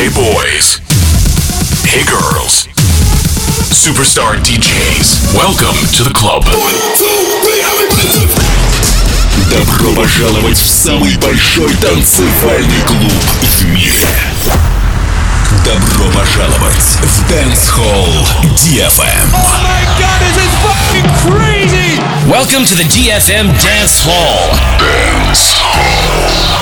Hey boys. Hey girls. Superstar DJs. Welcome to the club. Добро пожаловать в самый большой танцевальный клуб в мире. Добро пожаловать в Dance Hall DFM. Oh my god, this is fucking crazy! Welcome to the DFM Dance Hall. Dance Hall.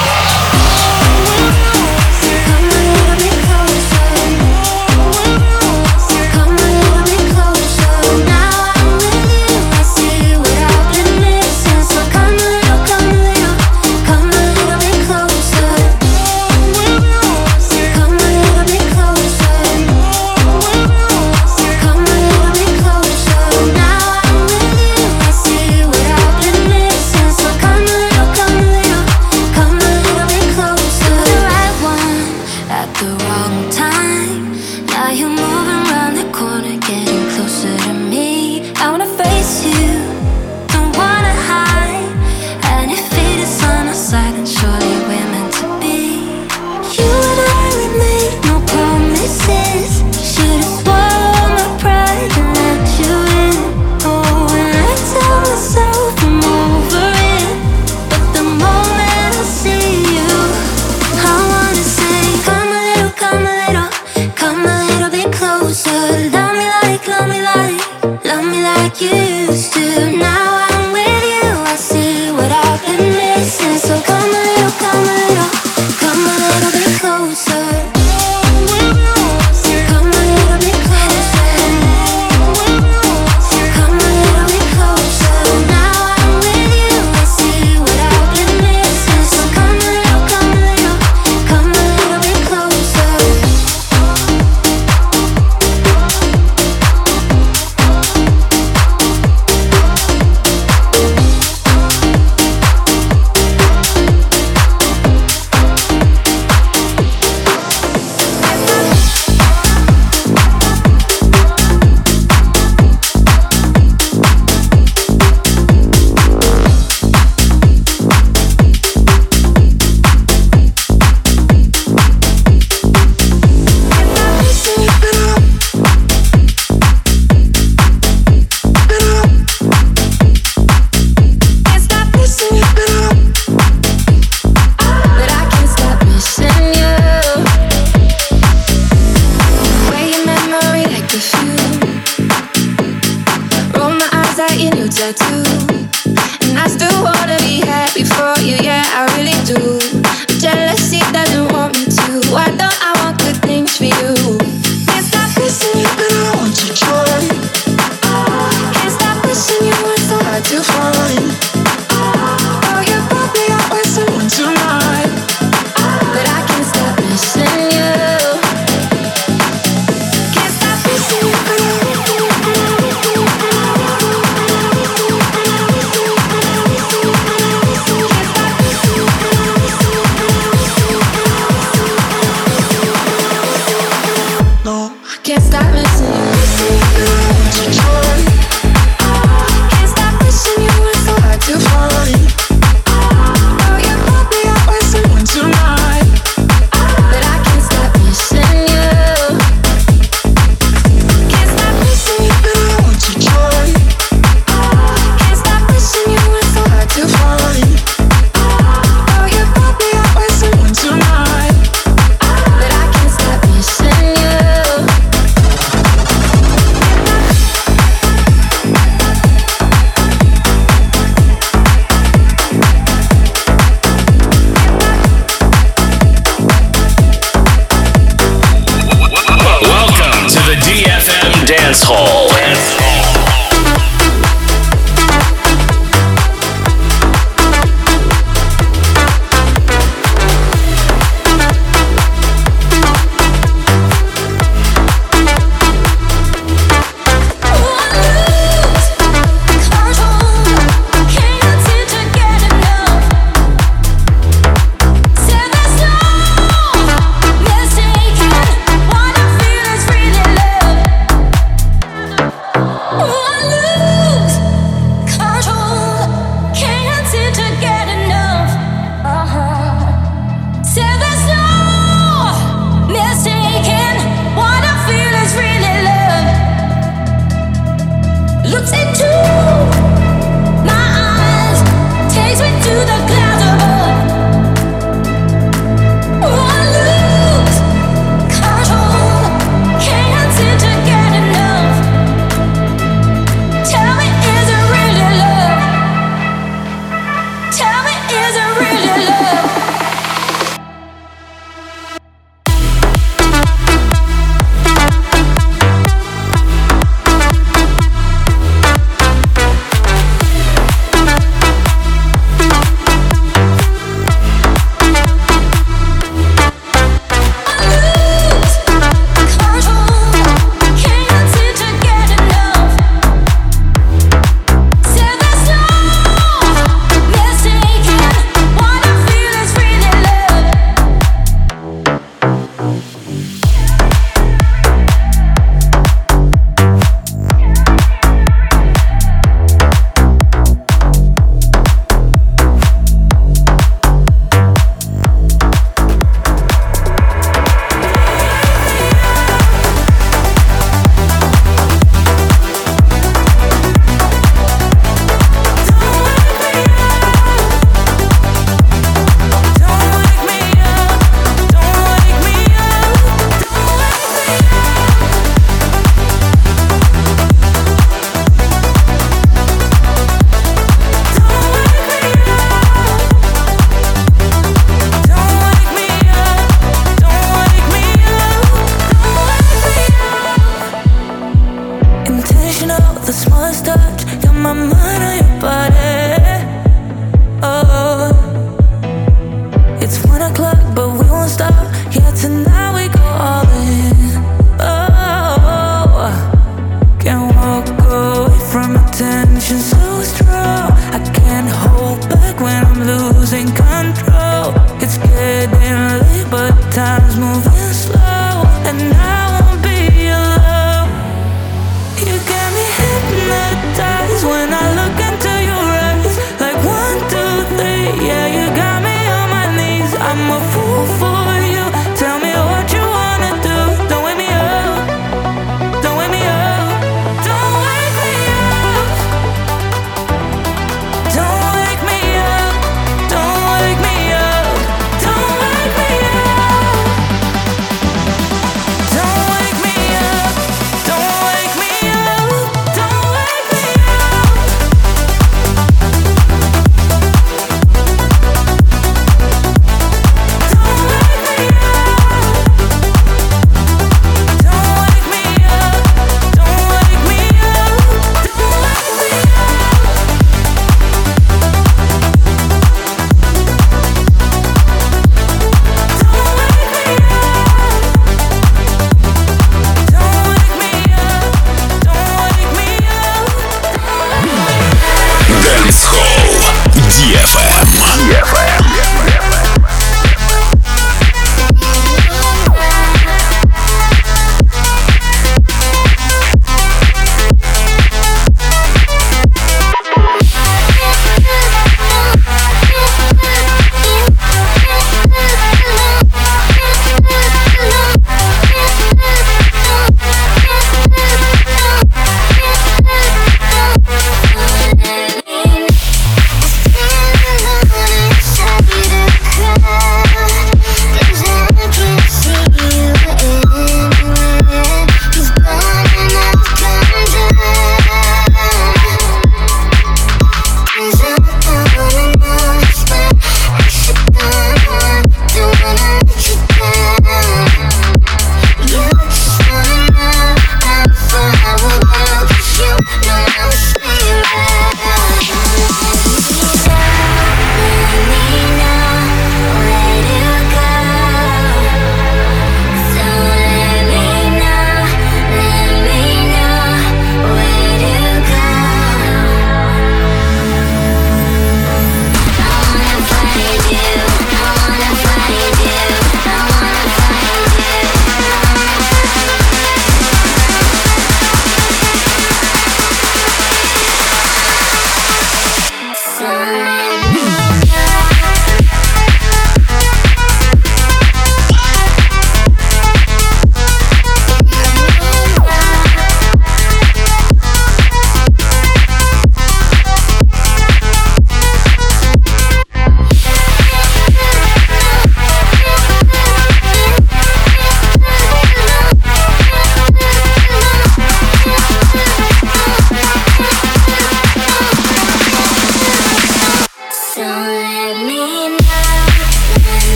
Dance Hall.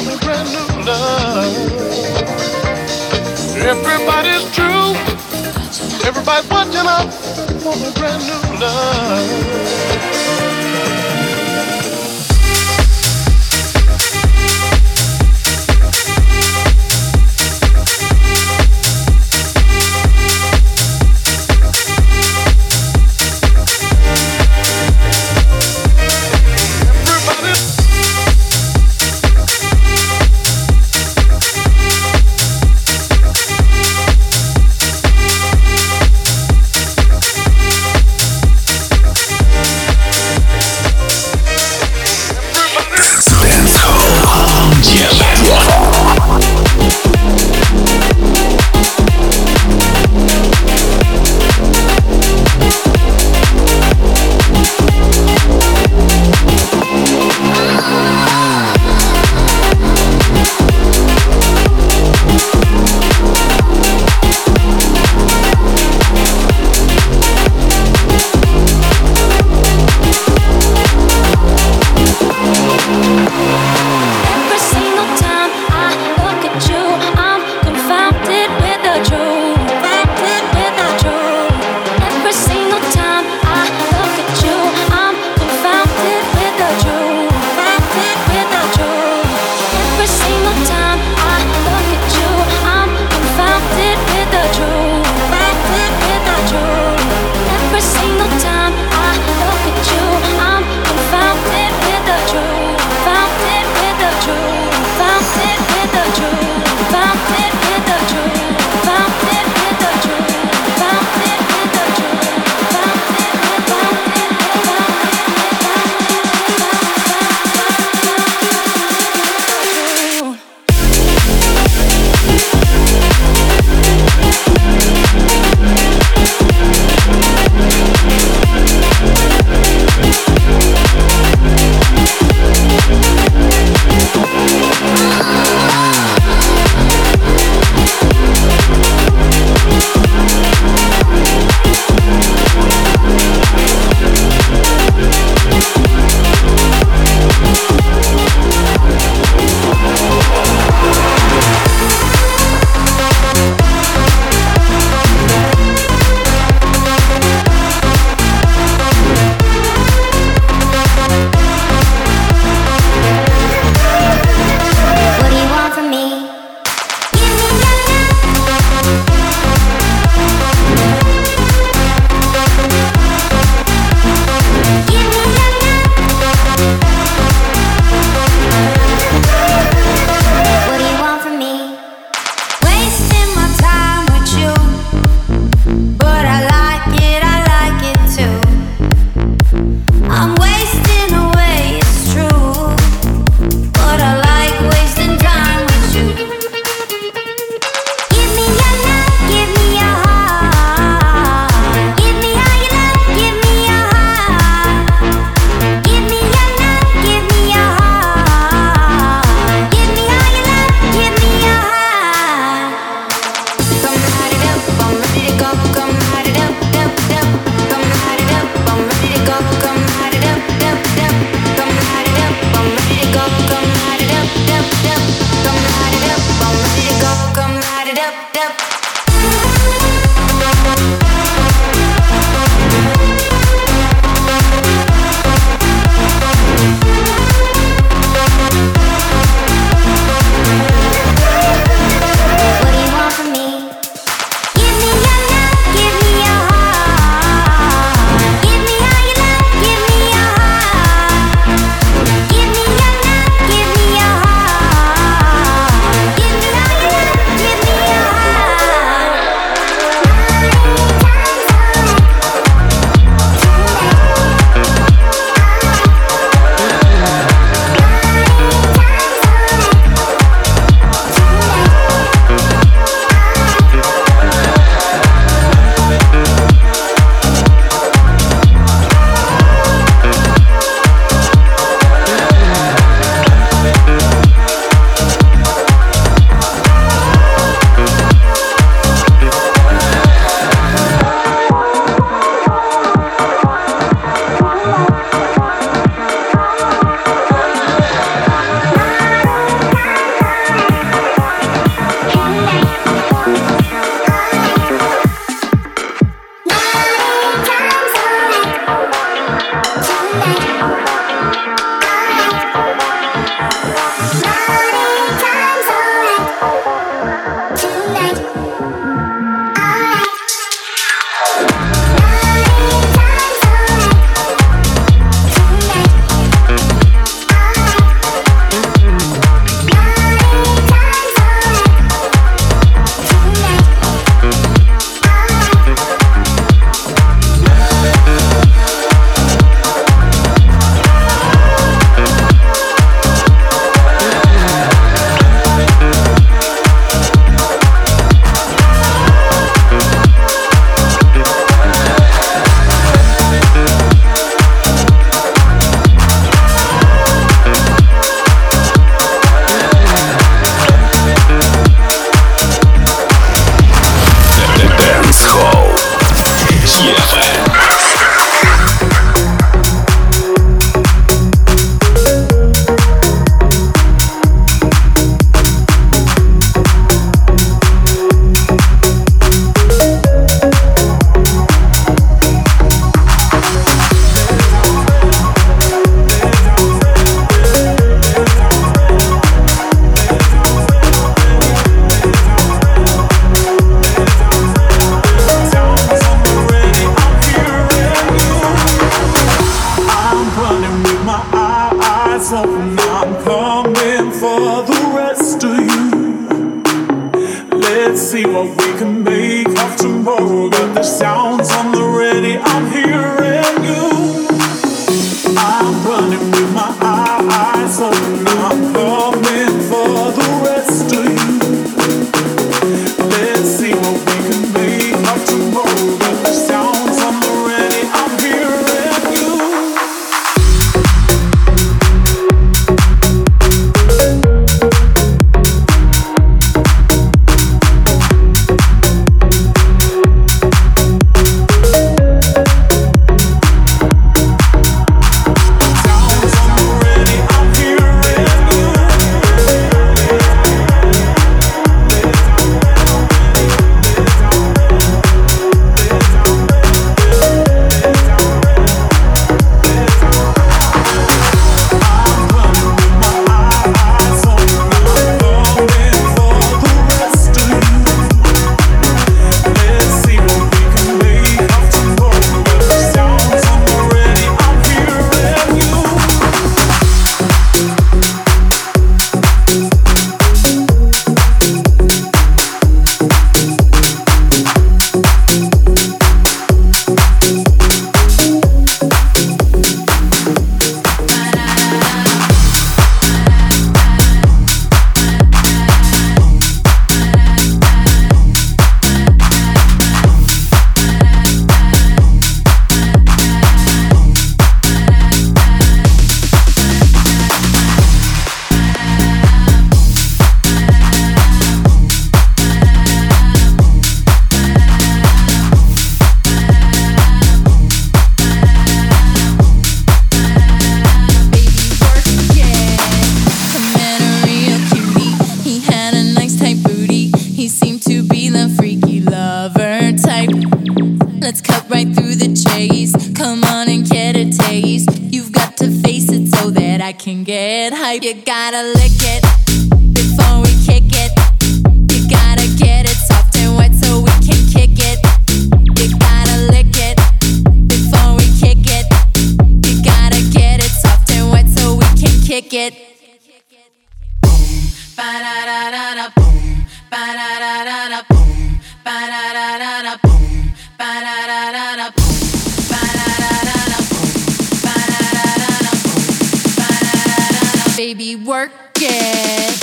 me brand new love. Everybody's true. Everybody's watching up. Want me brand new love. Let's see what we can make of tomorrow. Got the sounds on the ready, I'm hearing you. I'm running with my eyes open, I'm coming for the rest of you. Let's see what we can make of tomorrow. Got the sounds on the ready, I'm hearing you. You gotta lick it before we kick it. You gotta get it soft and wet so we can kick it. You gotta lick it before we kick it. You gotta get it soft and wet so we can kick it. Boom, ba da da da da, boom, ba da da da da, boom, ba da da da da, boom, ba da da da da, boom, ba da da da da, boom, ba da da da da, boom, ba da da da da. Baby, work it.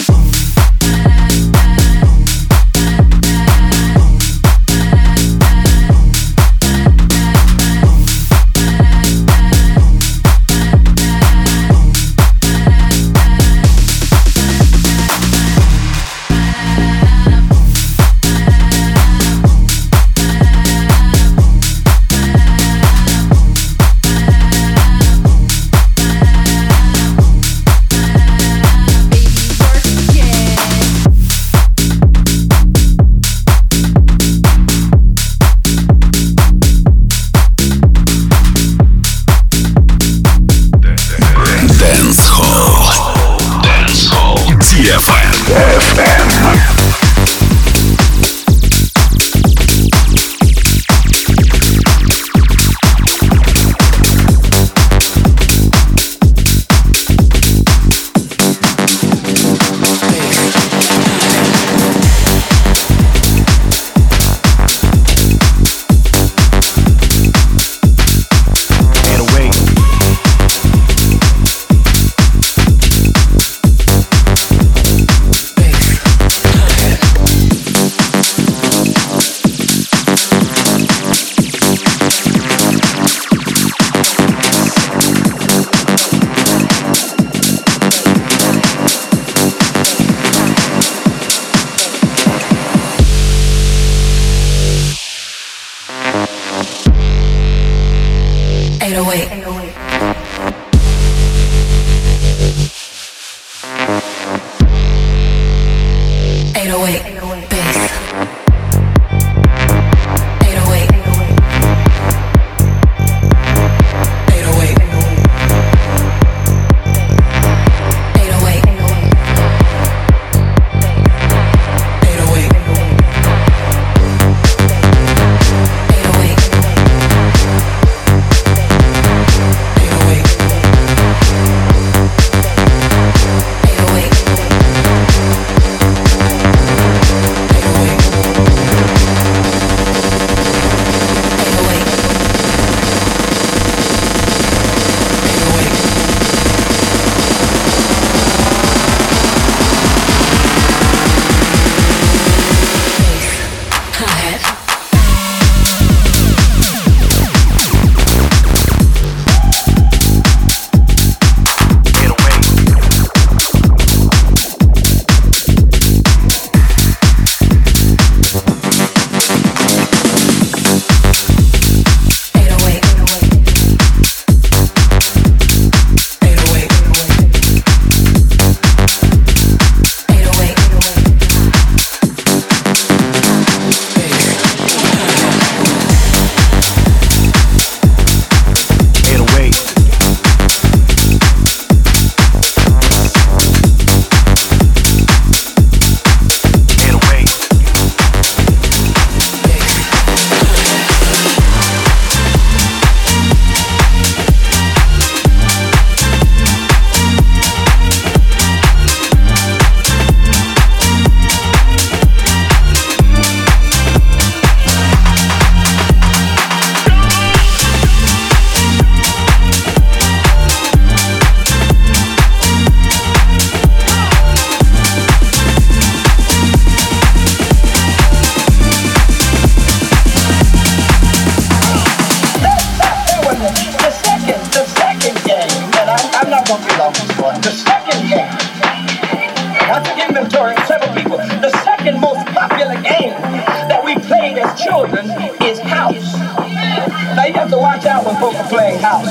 people. The second most popular game that we played as children is house. Now you have to watch out when folk are playing house.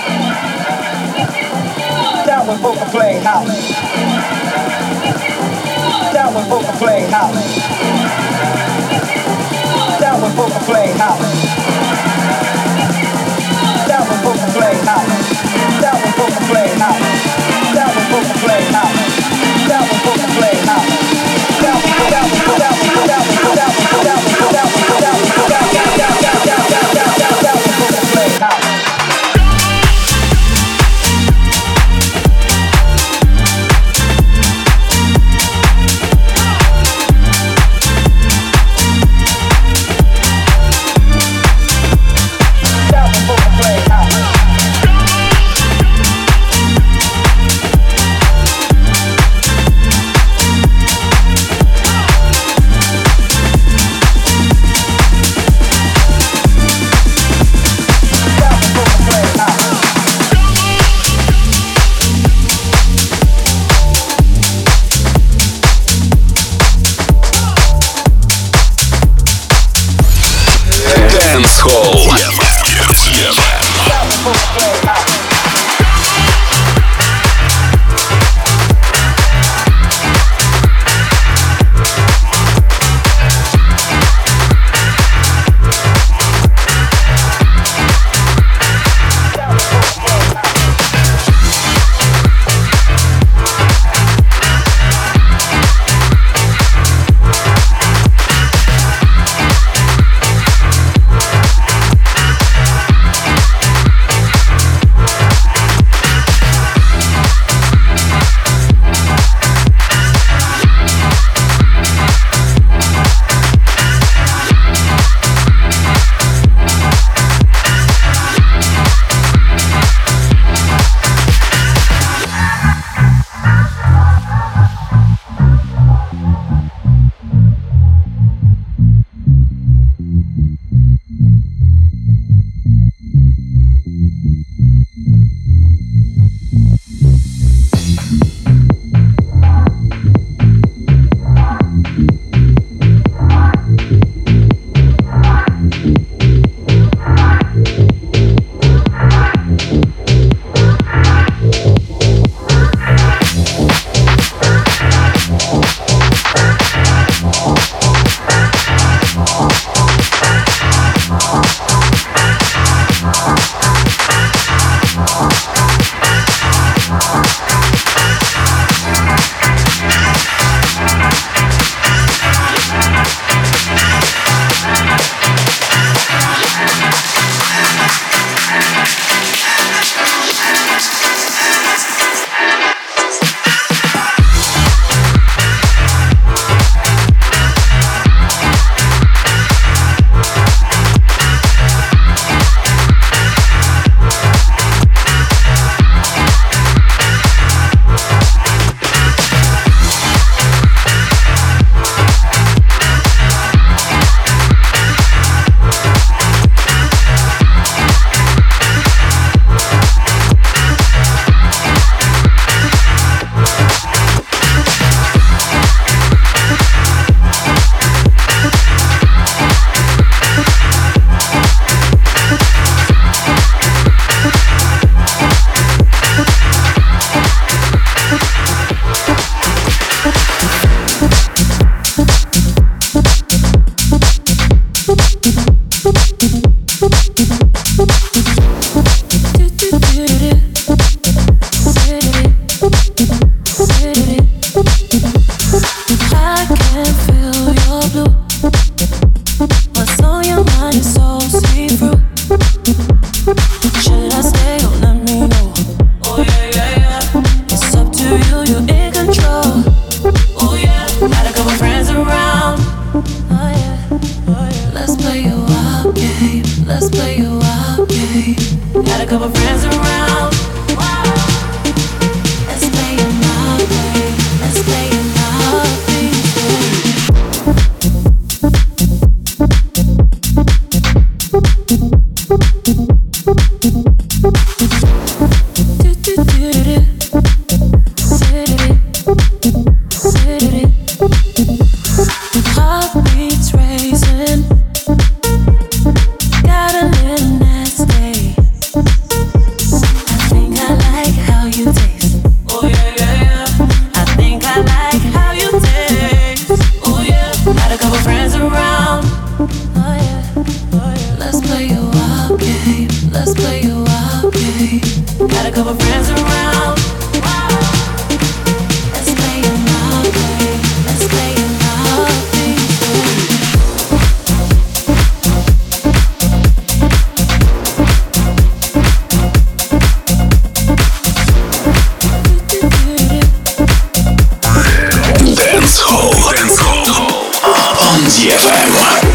Down when folk are playing house. Down when folk are playing house. Down when folk are playing house. Down when folk are playing house. Down when folk are playing house. Down when folk are playing house. Down when folk are playing house. Down when folk are playing house. friends around. Oh yeah, oh yeah. Let's play a wild game. Let's play a wild game. Got a couple friends around. Let's play a wild game. Let's play a wild game. Dance Hall on DFM.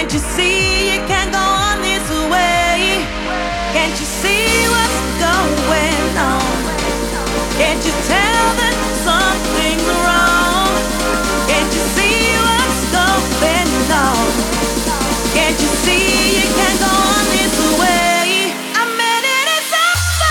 Can't you see you can't go on this way? Can't you see what's going on? Can't you tell that something's wrong? Can't you see what's going on? Can't you see you can't go on this way? I'm ready to suffer.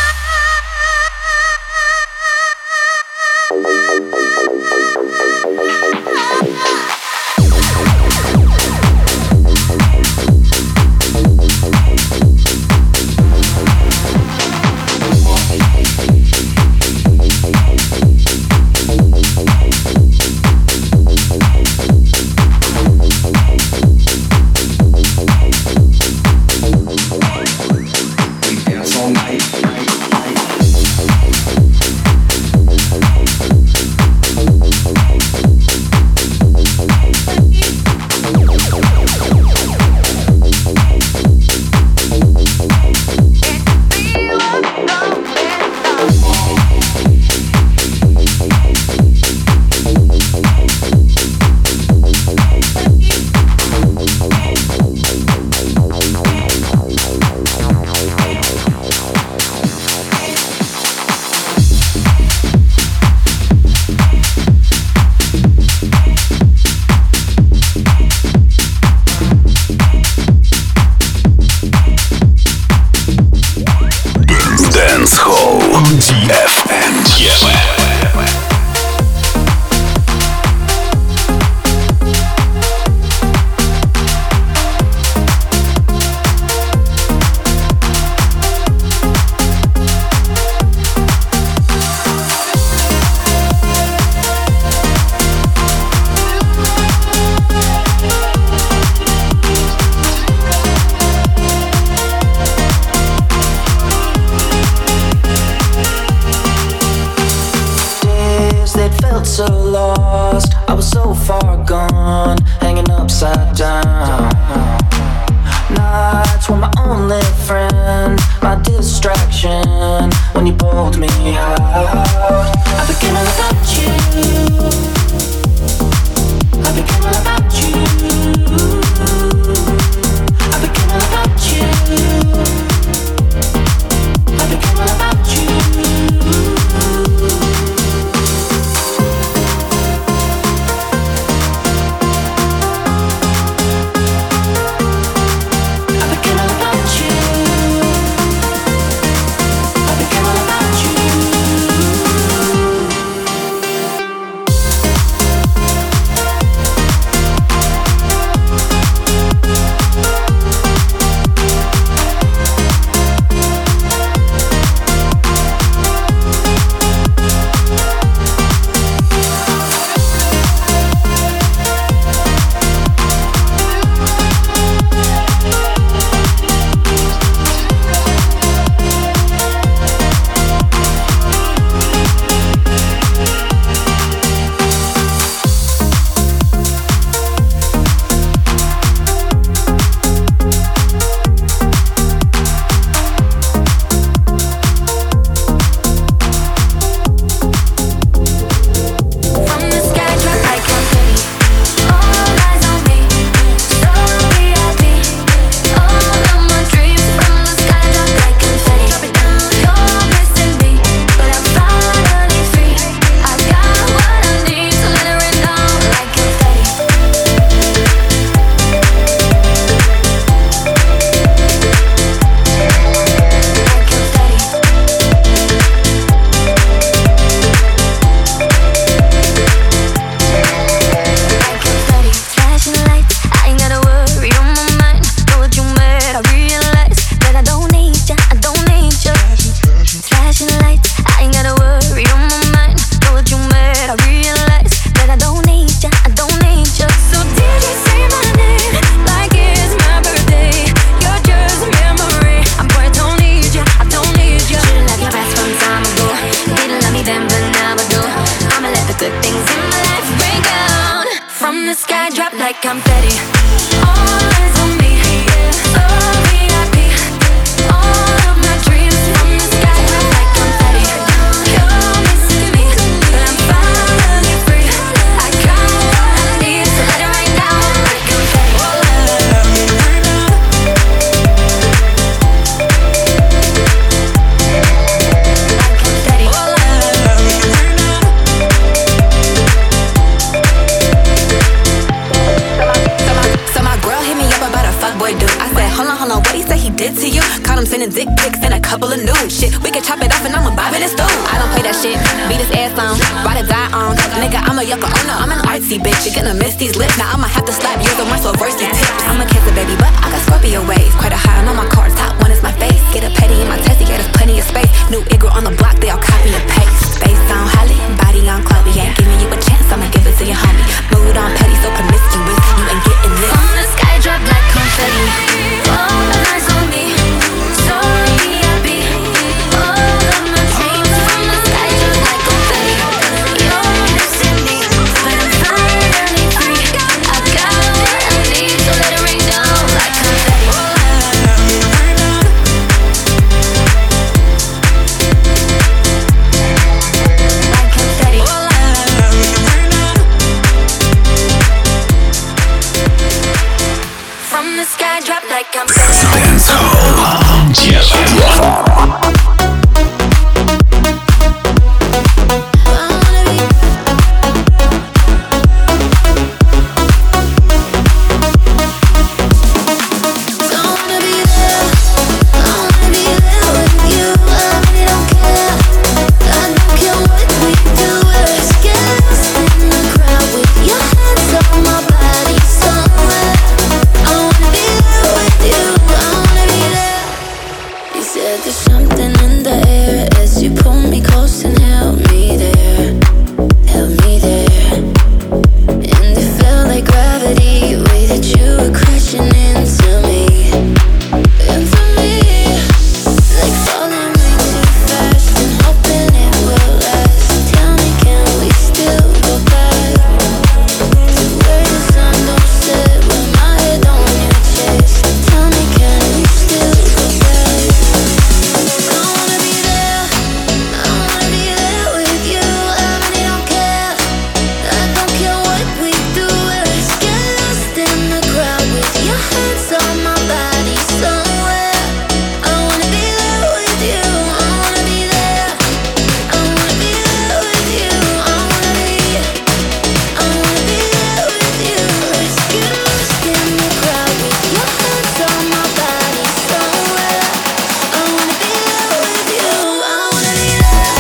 my own. Nigga, I'm a yucca owner, I'm an artsy bitch. You're gonna miss these lips, now I'ma have to slap yours on my so verse these tips. I'm a kisser, baby, but I got Scorpio waves. Quite a high on all my cards, top one is my face. Get a petty in my testy, yeah, there's plenty of space. New Igor on the block, they all copy and paste. Face on Holly, body on Chloe. Ain't giving you a chance, I'ma give it to your homie. Mood on petty, so promiscuous, you ain't getting this. From the sky, drop like confetti. All eyes on me, so VIP. All of my dreams from the sky, drop like confetti. You're missing me, but I'm finally free. I got what I need, so let it rain down like confetti. Like confetti. From the sky, drop like confetti. Dance Hall on DFM. There's something in the air as you pull me close and held me there, and it felt like gravity, the way that you were crashing into me, like falling way too fast and hoping it will last. Tell me, can we still go back to where the sun don't set with my head on your chest? Tell me, can we still go back? I wanna be there with you. I really don't care. I don't care what we do. Let's get lost in the crowd with your hands on my body somewhere. I wanna be there with you. I wanna be there. I wanna be there with you. I wanna be there with you. Let's get lost in the crowd with your hands on my body somewhere. I wanna be there with you. I wanna be there.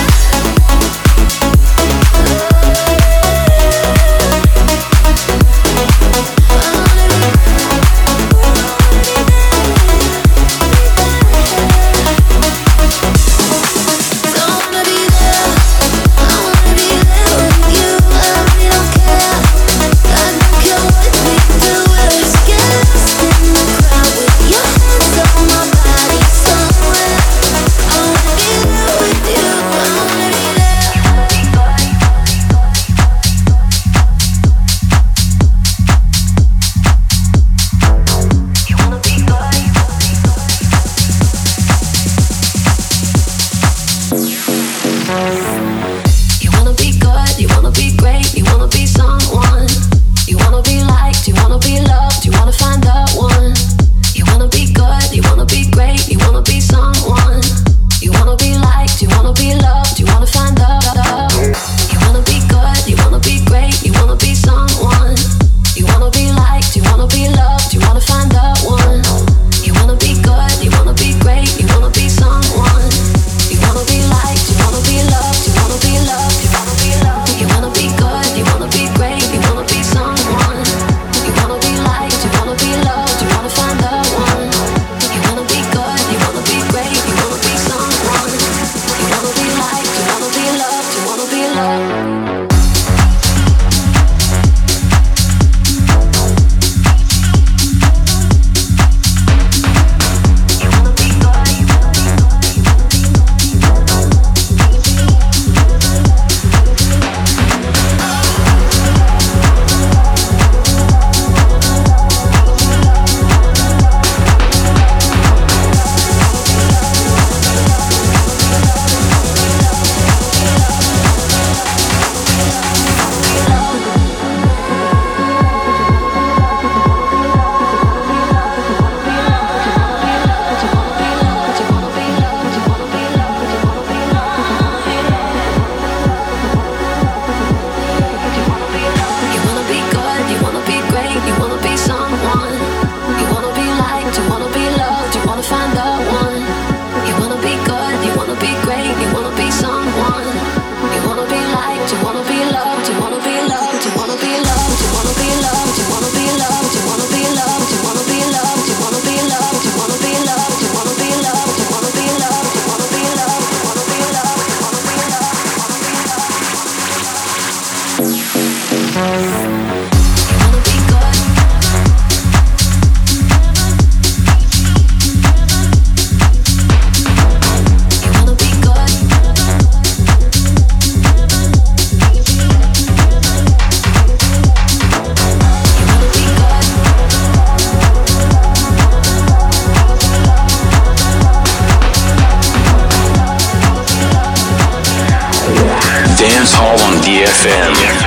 You wanna be good, you wanna be great, you wanna be someone. You wanna be liked, you wanna be loved, you wanna find the one. You wanna be good, you wanna be great, you wanna be someone. You wanna be liked, you wanna be loved, you wanna find the. You wanna be good, you wanna be great, you wanna be someone. You wanna be liked, you wanna be loved, you wanna find the one. You wanna be good, you wanna be great, you wanna be someone. You wanna be liked, you wanna be loved, you wanna be loved, you wanna be loved. You wanna be good, you wanna be great, you wanna be someone. You wanna be liked, you wanna be loved, you wanna find the one. You wanna be good, you wanna be great, you wanna be someone. You wanna be liked, you wanna be loved, you wanna be loved. You wanna be loved, you wanna be Dance Hall on DFM.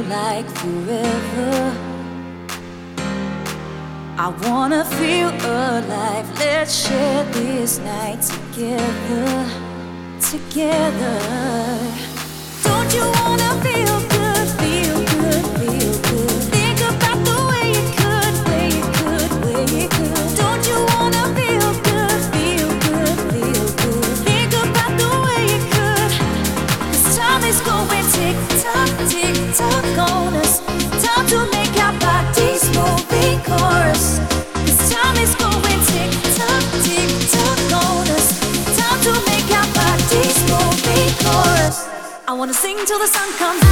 like forever. I wanna feel alive. Let's share this night together, together. Don't you wanna feel good, feel good, feel good? Think about the way it could, way it could, way it could. Don't you wanna feel good, feel good, feel good? Think about the way it could. 'Cause time is going tick tock on us. Time to make our bodies move in chorus. 'Cause time is going tick tock on us. Time to make our bodies move in chorus. I wanna sing till the sun comes